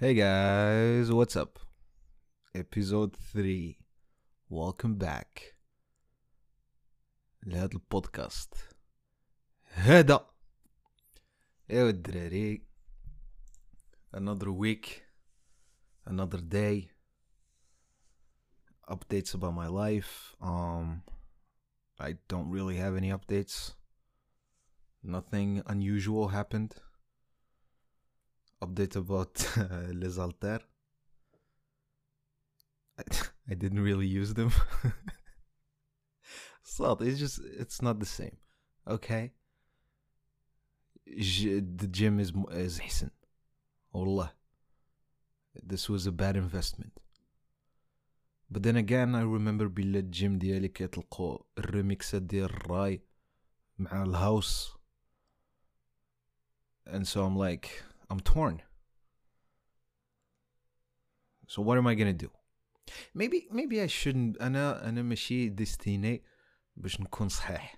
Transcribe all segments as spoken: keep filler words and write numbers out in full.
Hey guys, what's up? Episode three. Welcome back لهذا البودكاست. هذا ايوا الدراري. Another week, another day. Updates about my life. Um I don't really have any updates. Nothing unusual happened. Update about uh, Les Alter. I, I didn't really use them. So it's just it's not the same. Okay. J- the gym is is حسن. والله. This was a bad investment. But then again I remember بلا الجيم ديالي كيطلقوا الريميكسات ديال الراي مع الهاوس. And so I'm like I'm torn. So what am I gonna do? Maybe maybe I shouldn't. أنا أنا ماشي ديستيني باش نكون صحيح.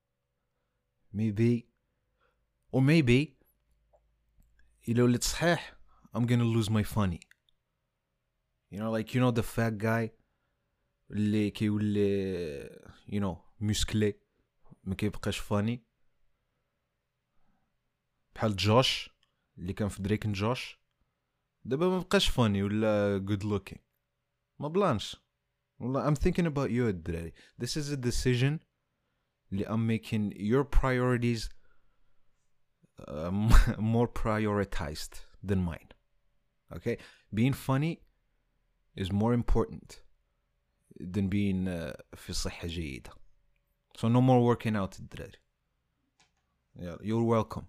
Maybe or maybe إلا وليت صحيح I'm gonna lose my funny. You know, like you know the fat guy اللي كيولي you know مسكلي ما كيبقاش فاني بحال جوش اللي كان في دريك جوش دابا ما بقاش فاني ولا good looking ما بلانش والله. I'm thinking about you الدراري. This is a decision اللي I'm making your priorities uh, more prioritized than mine. Okay, being funny is more important than being uh, في صحة جيدة. So no more working out الدراري. Yeah, you're welcome.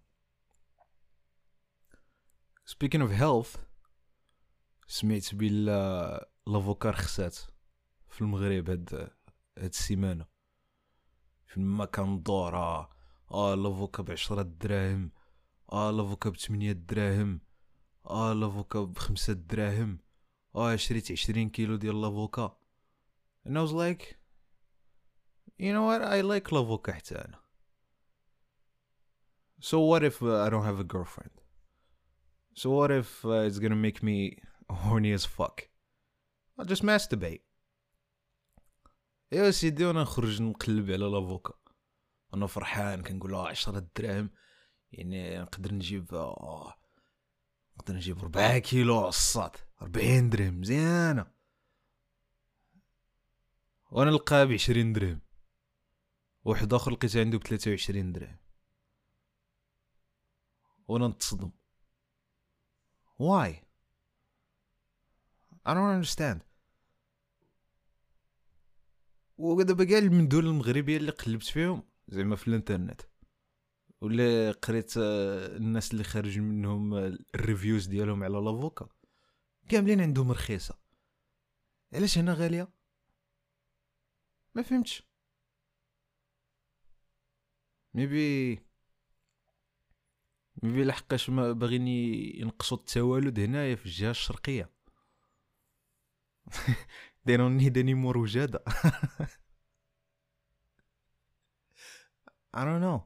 Speaking of health, سمعت بلا لافوكا رخصات في المغرب هاد هاد السيمانة. فيما كندور اه اه لافوكا بعشرة دراهم، اه لافوكا بثمانية دراهم، اه لافوكا بخمسة دراهم، اه شريت عشرين كيلو ديال لافوكا. And I was like, you know what, I like لافوكا حتى انا. So what if uh, I don't have a girlfriend? So what if uh, it's gonna make me horny as fuck? I'll just masturbate. ايوا سيدي وانا نخرج نقلب على لافوكا انا فرحان كنقول اه عشرة دراهم يعني نقدر نجيب اه نقدر نجيب ربعة كيلو عصات ربعين درهم مزيانة. وانا نلقاها بعشرين درهم. واحد اخر لقيت عنده بثلاثة وعشرين درهم وانا نتصدم. Why? I don't understand. ودابا كاع المدن المغربيه اللي قلبت فيهم زعما في الانترنت ولا قريت الناس اللي خارج منهم الريفيوز ديالهم على لافوكا كاملين عندهم رخيصه. علاش هنا غاليه؟ ما فهمتش. ميبي ميبي لحقاش ما باغيين ينقصوا التوالد هنايا في الجهه الشرقيه. they don't need any more وجاده. I don't know.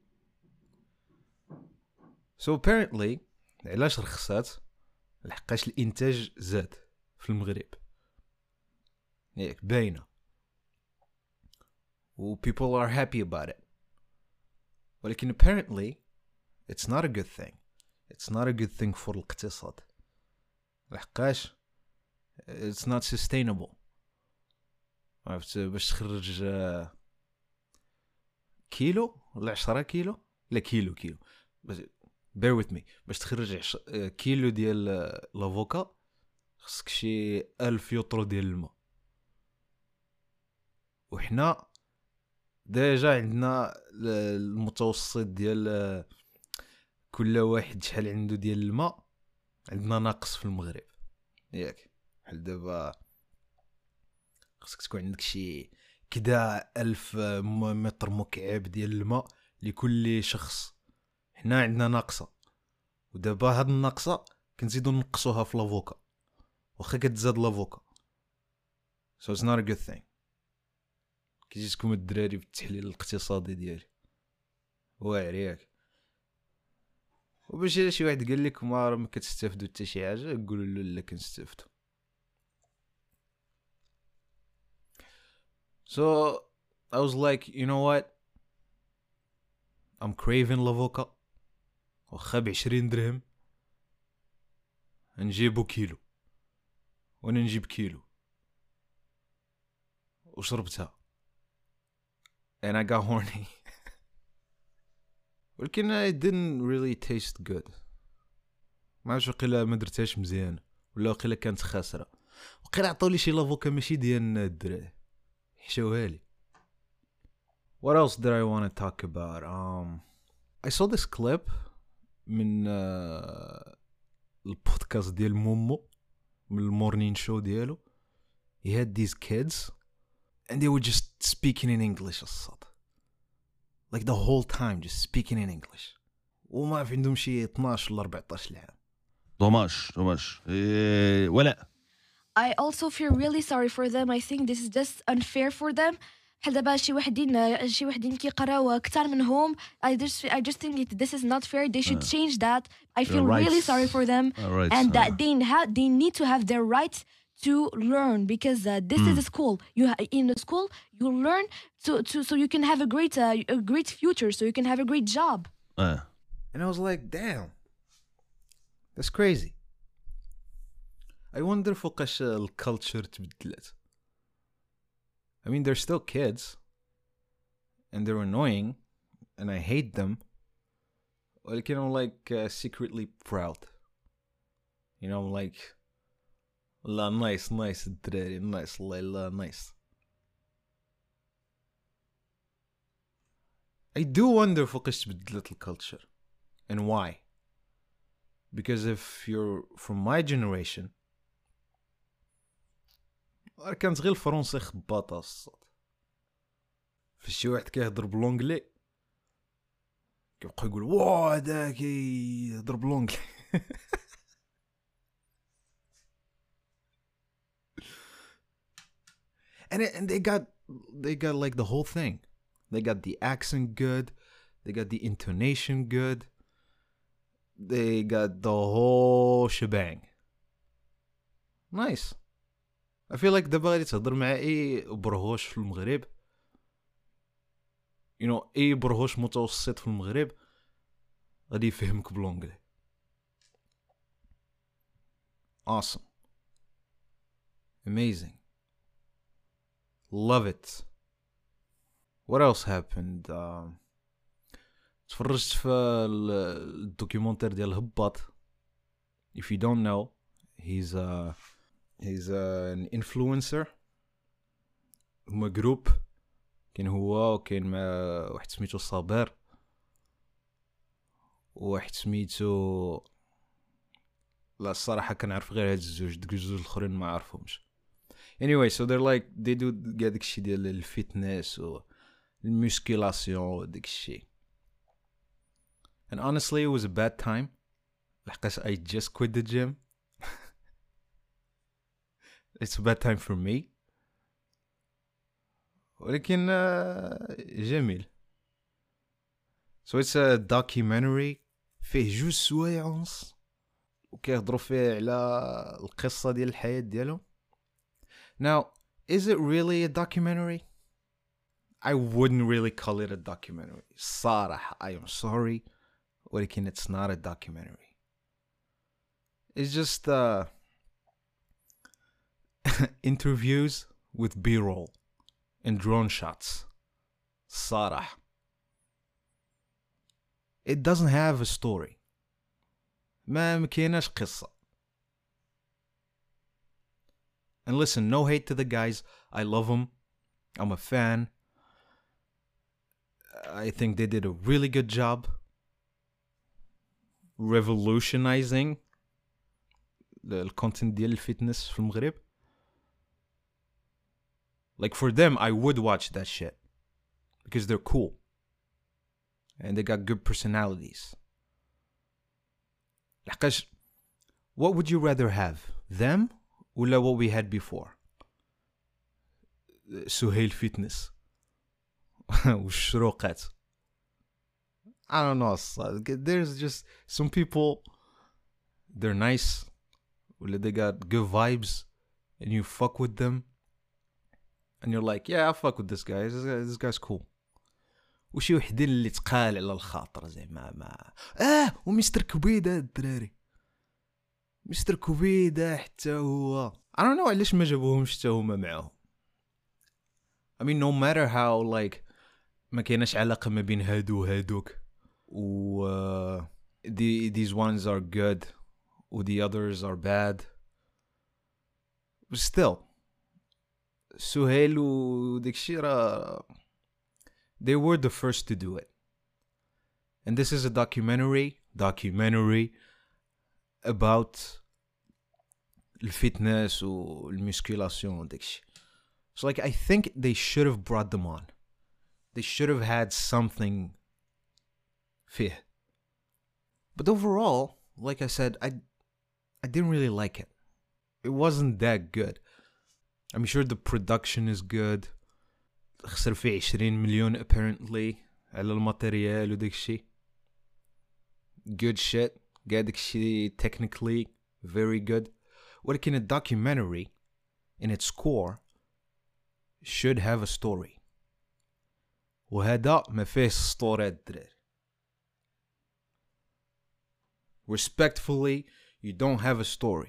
So apparently علاش رخصات؟ لحقاش الانتاج زاد في المغرب ياك باينه و people are happy about it. ولكن apparently it's not a good thing. It's not a good thing for الاقتصاد لحقاش it's not sustainable. عرفت باش تخرج كيلو ولا عشرة كيلو لا كيلو كيلو بس bear with me باش تخرج عش... كيلو ديال لافوكا خصك شي ألف يوترو ديال الماء. وحنا ديجا عندنا المتوسط ديال كل واحد شحال عنده ديال الماء عندنا ناقص في المغرب ياك. بحال دابا خصك تكون عندك شي كدا ألف متر مكعب ديال الماء لكل شخص. حنا عندنا ناقصه ودابا هاد الناقصه كنزيدو نقصوها في لافوكا واخا كتزاد لافوكا. so it's not a good thing. كيجيكم الدراري بالتحليل الاقتصادي ديالي واعر ياك. وباش الا شي واحد قال لك ما راه ما كتستافدوا حتى شي حاجه قولوا له لا كنستافدوا. So I was like, you know what, I'm craving لافوكا واخا بعشرين درهم نجيبو كيلو، وانا نجيب كيلو وشربتها and I got horny. ولكن it didn't really taste good. ما عرفتش وقيلا ما درتهاش مزيان ولا وقيلا كانت خاسره، وقيلا عطاولي شي لافوكا ماشي ديال الدراري حشوها لي. What else did I want to talk about? Um, I saw this clip من uh, البودكاست ديال مومو من المورنين شو ديالو. He had these kids and they were just speaking in English الصاد like the whole time just speaking in English وما في عندهم شي اثناش ولا أربعطاش العام. دوماج دوماج إيه ولا I also feel really sorry for them. I think this is just unfair for them. حال دابا شي وحدين شي وحدين كيقراو اكثر منهم. I just I just think it, this is not fair. They should uh, change that. I feel rights. really sorry for them, uh, rights, and uh. that they have they need to have their rights to learn because uh, this mm. is a school. You ha- in the school you learn to to so you can have a great uh, a great future. So you can have a great job. uh. And I was like, damn, that's crazy. I wonder فوقاش الكالتشر تبدلت. I mean, they're still kids and they're annoying and I hate them. Like, you know, like uh, secretly proud. You know, like, la nice, nice, الدراري, nice, la nice. I do wonder فوقاش تبدلت الكالتشر and why. Because if you're from my generation, كانت غير الفرنسي خباطه الصوت. فشي واحد كيهضر بالونجلي كيبقى يقول واه هذا كيهضر بالونجلي. and it, and they got they got like the whole thing. They got the accent good, they got the intonation good, they got the whole shebang. Nice. I feel like دابا غادي تهضر مع اي برهوش في المغرب, you know, اي برهوش متوسط في المغرب غادي يفهمك بالونجلي. Awesome. Amazing. Love it. What else happened? Uh, تفرجت في الدوكيومنتير ديال الهباط. If you don't know, he's a he's a, an influencer. هما جروب كاين هو وكاين مع واحد سميتو صابر وواحد سميتو لا الصراحه كنعرف غير هاد الزوج, ديك الزوج الاخرين ما عارفهمش. Anyway, so they're like they do كاع داكشي ديال الفيتنس و المسكيلاسيون وداك الشيء. And honestly it was a bad time لحقاش I just quit the gym. It's a bad time for me. ولكن جميل. So it's a documentary فيه جوج سوايع ونص وكيهضروا فيه على القصة ديال الحياة ديالهم. Now, is it really a documentary? I wouldn't really call it a documentary. صراحة, I am sorry. ولكن it's not a documentary. It's just uh, interviews with B-roll and drone shots. صراحة. It doesn't have a story. ما مكيناش قصة. And listen, no hate to the guys. I love them. I'm a fan. I think they did a really good job revolutionizing the content ديال الفيتنس في المغرب. Like for them, I would watch that shit because they're cool and they got good personalities. لحقاش, what would you rather have? Them? ولا what we had before? سهيل فيتنس والشروقات. I don't know الصاد. There's just some people, they're nice ولا they got good vibes and you fuck with them and you're like yeah I fuck with this guy, this, guy, this guy's cool. وشي وحدين اللي تقال على الخاطر زعما ما اه ومستر كوبيدا الدراري، مستر كوبيدا حتى هو I don't know علاش ما جابوهمش حتى هما معاهم. I mean no matter how like ما كايناش علاقة ما بين هادو وهادوك و uh, the, these ones are good و the others are bad, but still سهيل و داكشي راه they were the first to do it. And this is a documentary documentary about الفيتنس والمسكولاسيون وداكشي. So like I think they should have brought them on. They should have had something فيه. But overall, like I said, I I didn't really like it. It wasn't that good. I'm sure the production is good. خسر فيه عشرين مليون apparently على الماتريال وداكشي. Good shit. قاعد داكشي technically very good. ولكن a documentary in its core should have a story. وهذا ما فيه ستوري الدراري. Respectfully, you don't have a story.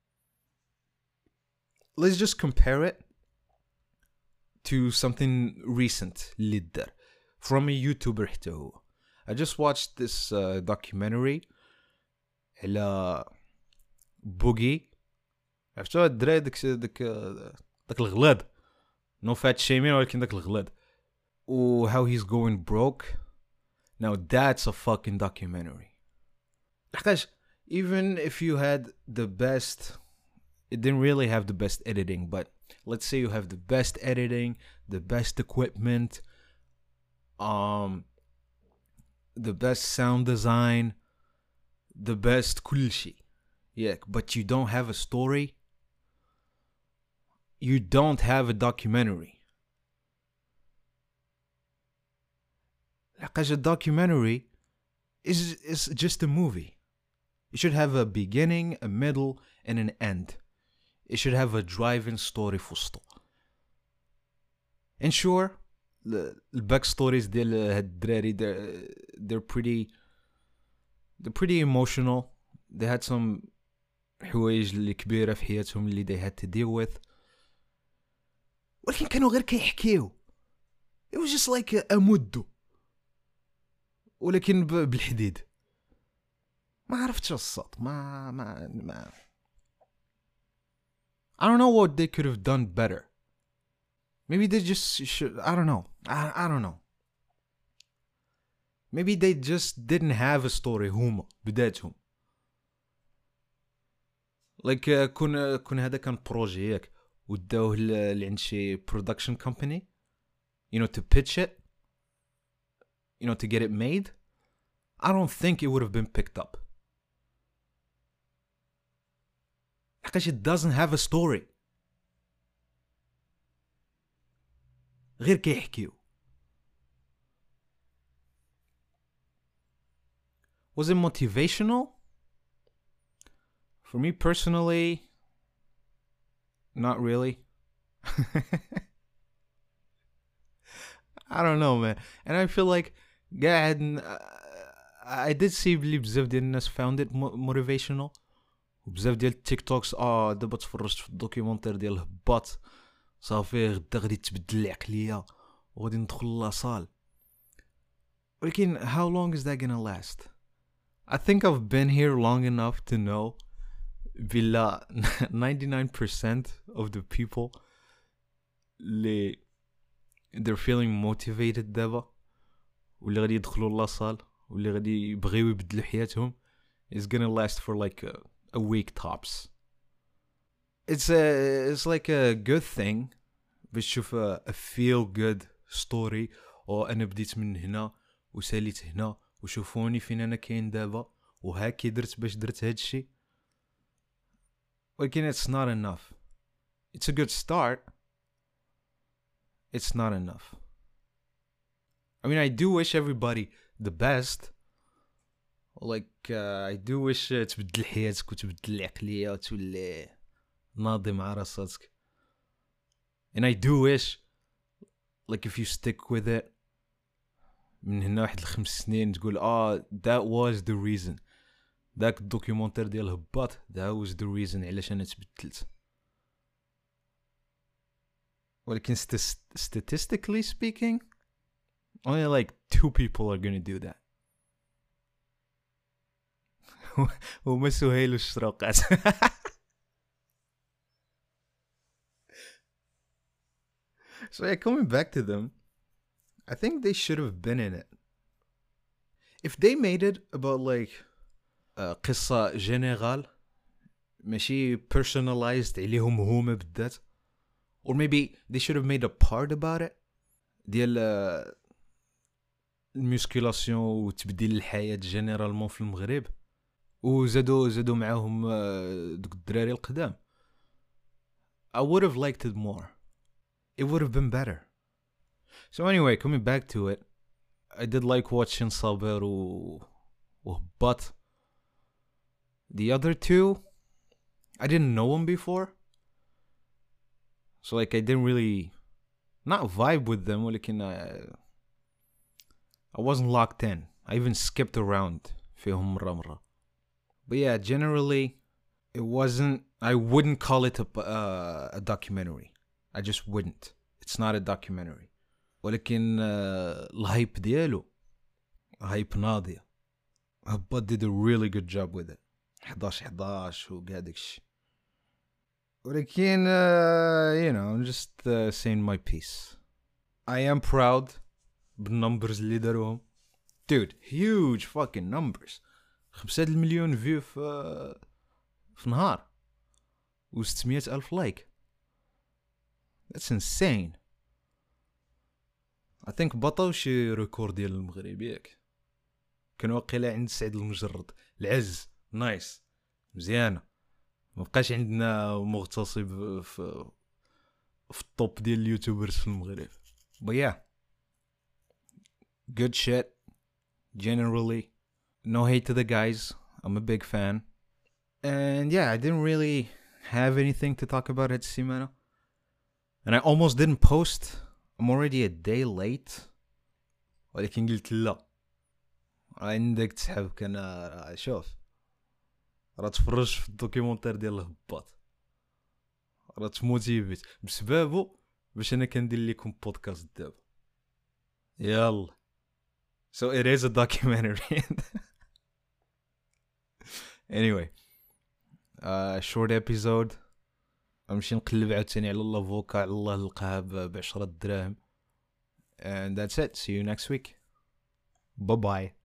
Let's just compare it to something recent اللي دار from a YouTuber حتى هو. I just watched this uh, documentary على بوغي. عرفتو الدراري داك داك داك الغلاد no fat shaming ولكن داك الغلاد و how he's going broke. Now that's a fucking documentary. لحقاش even if you had the best, it didn't really have the best editing, but let's say you have the best editing, the best equipment, um, the best sound design, the best كل شيء. Yeah, but you don't have a story. You don't have a documentary. لحقاش a documentary is is just a movie. It should have a beginning, a middle, and an end. It should have a driving story for وسطو. And sure, the, the backstories ديال هاد الدراري they're, they're pretty they're pretty emotional. They had some حوايج اللي كبيرة في حياتهم اللي they had to deal with. ولكن كانوا غير كيحكيو. It was just like a, a مدو. ولكن بالحديد. ما عرفتش الصوت. ما ما ما I don't know what they could have done better. Maybe they just should, I don't know. I, I don't know. Maybe they just didn't have a story هما بدايتهم. Like uh, كون كون هذا كان بروجي ياك وداوه اللي عند شي production company, you know, to pitch it, you know, to get it made. I don't think it would have been picked up. Because it doesn't have a story. غير كيحكيو. Was it motivational? For me personally, not really. I don't know, man. And I feel like قاعد I did see بلي بزاف ديال الناس found it motivational. وبزاف ديال التيك توكس اه دابا تفرجت في الدوكيومونتير ديال الهباط صافي غدا غادي تبدل العقليه وغادي ندخل لاصال. ولكن how long is that gonna last? I think I've been here long enough to know بلا ninety-nine percent of the people اللي they're feeling motivated دابا واللي غادي يدخلوا لاصال واللي غادي يبغيو يبدلوا حياتهم is gonna last for like a, a week tops. It's a it's like a good thing باش تشوف a, a feel good story او انا بديت من هنا وساليت هنا وشوفوني فين انا كاين دابا وهاكي درت باش درت هادشي. ولكن it's not enough. It's a good start. It's not enough. I mean, I do wish everybody the best. like uh, I do wish uh, تبدل حياتك وتبدل العقلية وتولي ناضي مع راسك. and I do wish like if you stick with it من هنا واحد الخمس سنين تقول اه that was the reason. داك الدوكيومنتير ديال هباط that was the reason علاش انا تبدلت. ولكن statistically speaking only like two people are gonna do that. وما سهيل الشروقات. So yeah, coming back to them, I think they should have been in it. If they made it about like uh, قصة جنرال ماشي personalized عليهم هما بالذات, or maybe they should have made a part about it ديال uh, الميسكولاسيون وتبديل الحياة جنرالمون في المغرب, وزادوا زادوا معاهم uh, دوك الدراري القدام. I would have liked it more. It would have been better. So anyway, coming back to it, I did like watching Saber و وهباط. The other two, I didn't know them before, so like I didn't really not vibe with them. ولكن I, I wasn't locked in. I even skipped around فيهم مرة مرة. But yeah, generally, it wasn't. I wouldn't call it a uh, a documentary. I just wouldn't. It's not a documentary. ولكن uh, الهايب ديالو هايب ناضية. هباط did a really good job with it. حداش حداش وكاع داكشي. ولكن uh, you know, I'm just uh, saying my piece. I am proud بالنمبرز اللي داروهم. Dude, huge fucking numbers. خمسة المليون فيو في في نهار و ستمية ألف لايك. That's insane. I think بطاو شي ريكورد ديال المغرب ياك. كان واقيلا عند سعيد المجرد. العز نايس مزيانة. مبقاش عندنا مغتصب في في الطوب ديال اليوتيوبرز في المغرب. But yeah, good shit. Generally, no hate to the guys. I'm a big fan. And yeah, I didn't really have anything to talk about at السيمانة. And I almost didn't post. I'm already a day late. ولكن قلت لا. عندك تسحب كان شوف. راه تفرج في الدوكيومنتير ديال الهباط. راه تموتيفيت بسببه باش انا كندير لكم بودكاست دابا. يلا. So it is a documentary. Anyway, uh, short episode. غنمشي نقلب عاوتاني على لافوكا على الله نلقاها بعشرة دراهم. And that's it. See you next week. Bye bye.